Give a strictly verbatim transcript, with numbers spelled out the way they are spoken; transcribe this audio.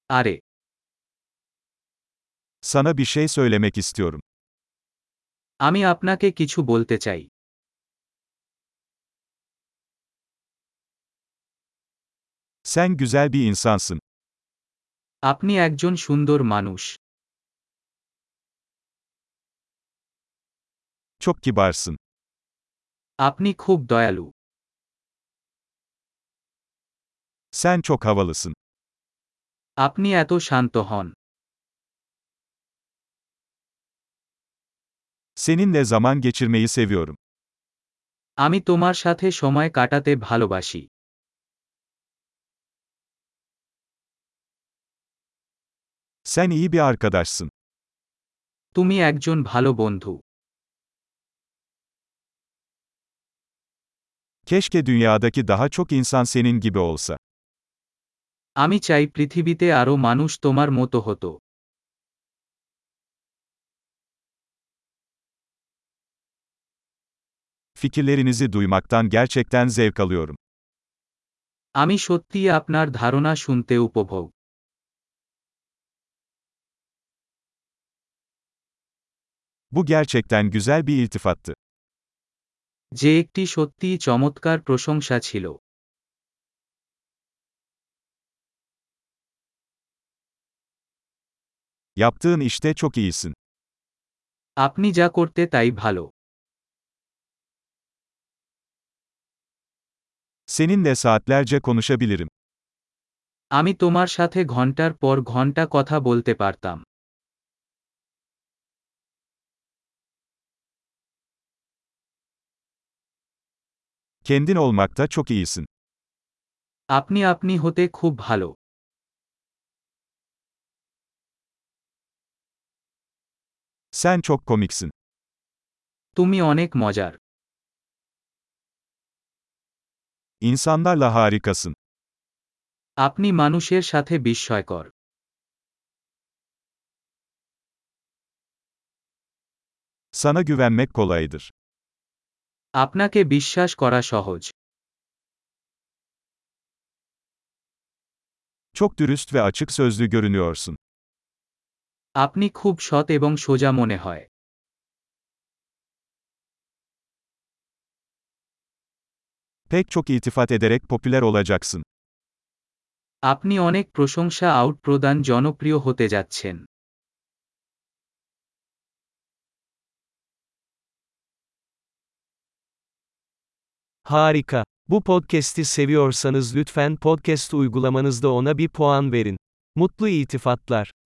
আরে, Sana bir şey söylemek istiyorum. আমি আপনাকে কিছু বলতে চাই। Sen güzel bir insansın. আপনি একজন সুন্দর মানুষ। Çok kibarsın. আপনি খুব দয়ালু। Sen çok havalısın. আপনি এত শান্ত হন। Seninle zaman geçirmeyi seviyorum. আমি তোমার সাথে সময় কাটাতে ভালোবাসি। Sen iyi bir arkadaşsın. তুমি একজন ভালো বন্ধু। Keşke dünyadaki daha çok insan senin gibi olsa. আমি চাই পৃথিবীতে আরও মানুষ তোমার মতো হতো। Fikirlerinizi duymaktan gerçekten zevk alıyorum. আমি সত্যিই আপনার ধারণা শুনতে উপভোগ। Bu gerçekten güzel bir iltifattı. যে একটি সত্যিই চমৎকার প্রশংসা ছিল। Yaptığın işte çok iyisin. আপনি যা করতে তাই ভালো। Seninle saatlerce konuşabilirim. আমি তোমার সাথে ঘন্টার পর ঘন্টা কথা বলতে পারতাম। Kendin olmakta çok iyisin. আপনি আপনি হতে খুব ভালো। Sen çok komiksin. তুমি অনেক মজার। İnsanlarla harikasın. আপনি মানুষের সাথে বিস্ময়কর। Sana güvenmek kolaydır. আপনাকে বিশ্বাস করা সহজ। Çok dürüst ve açık sözlü görünüyorsun. আপনি খুব সৎ এবং সোজা মনে হয়। Pek çok iltifat ederek popüler olacaksın. আপনি অনেক প্রশংসা আউট প্রদান জনপ্রিয় হতে যাচ্ছেন। Harika. Bu podcast'i seviyorsanız lütfen podcast uygulamanızda ona bir puan verin. Mutlu iltifatlar.